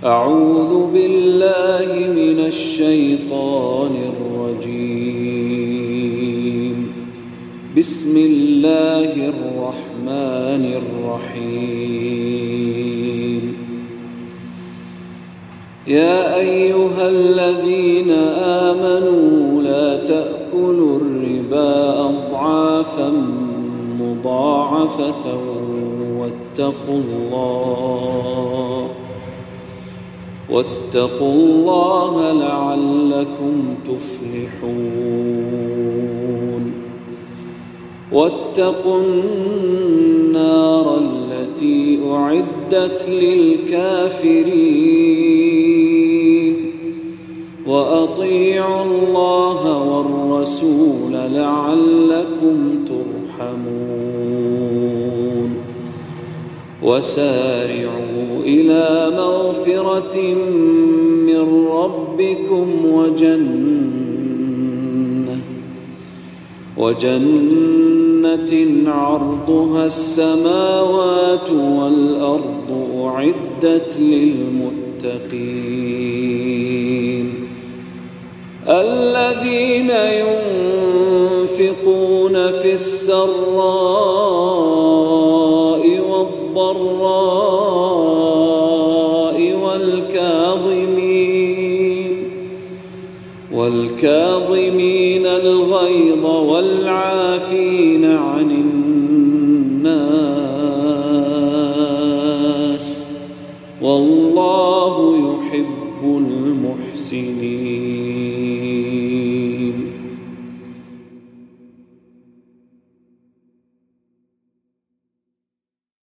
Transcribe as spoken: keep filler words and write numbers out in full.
أعوذ بالله من الشيطان الرجيم. بسم الله الرحمن الرحيم. يا أيها الذين آمنوا لا تأكلوا الربا أضعافا مضاعفة واتقوا الله واتقوا الله لعلكم تفلحون. واتقوا النار التي أعدت للكافرين وأطيعوا الله والرسول لعلكم ترحمون. وسارعوا إلى مغفرة من ربكم وجنة وجنة عرضها السماوات والأرض أعدت للمتقين الذين ينفقون في السراء والضراء والكاظمين والكاظمين الغيظ والعافين عن الناس والله يحب المحسنين.